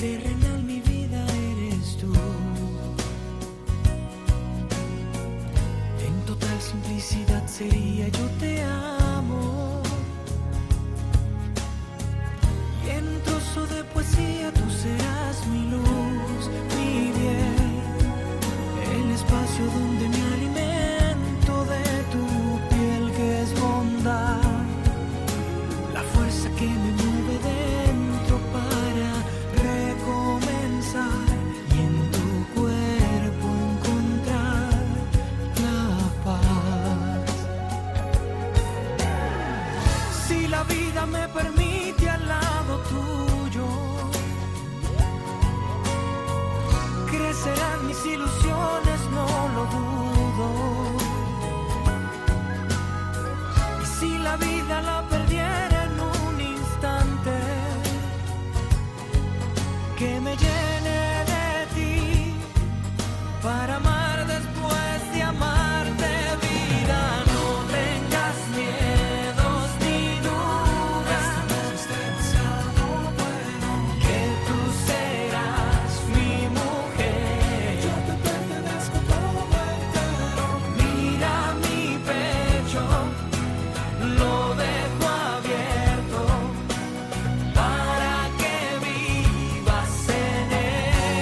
terrenal, mi vida eres tú. En total simplicidad sería yo te amo. Y en un trozo de poesía tú serás mi luz, mi bien. El espacio donde me alimento de tu piel que es bondad. La fuerza que me mueve dentro para recomenzar. Y en tu cuerpo encontrar la paz. Si la vida me permite al lado tuyo, crecerán mis ilusiones, no lo dudo. Y si la vida la perdiera en un instante, que me llene de ti para amar después de amarte, vida. No tengas miedos ni dudas, que tú serás mi mujer. Yo te pertenezco todo entero. Mira mi pecho, lo dejo abierto para que vivas en él.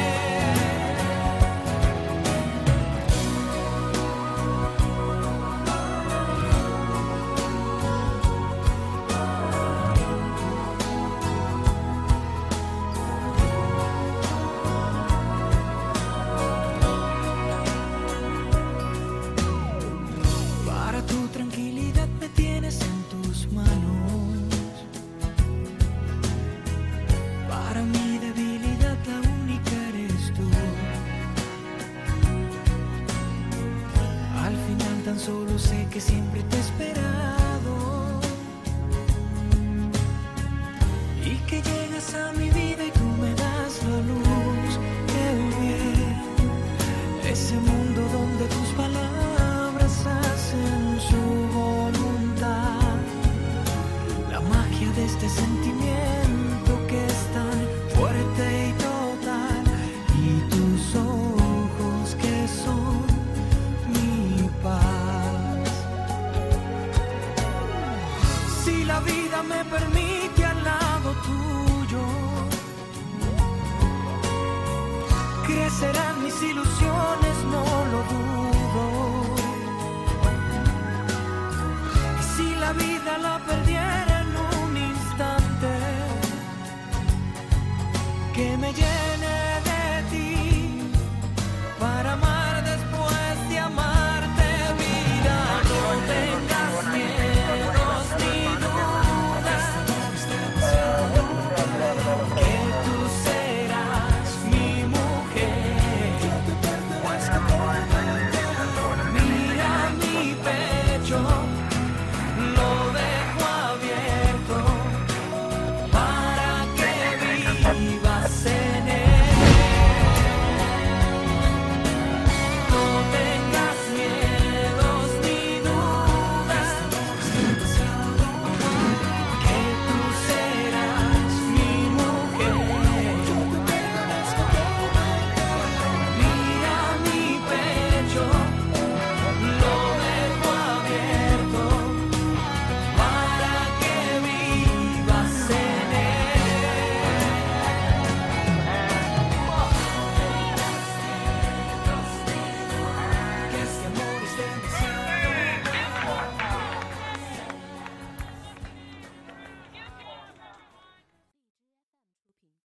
Para tu tranquilidad me tienes en tus manos. Para mi debilidad la única eres tú. Al final tan solo sé que siempre te he esperado y que llegas a mi vida y tú me das la luz, el bien. Ese mundo donde tus palabras hacen su voluntad. La magia de este sentimiento que es tan fuerte y total. Y tus ojos que son mi paz. Si la vida me permite al lado tuyo, crecerán mis ilusiones, no lo dudo. Y si la vida la perdiera en un instante, que me llene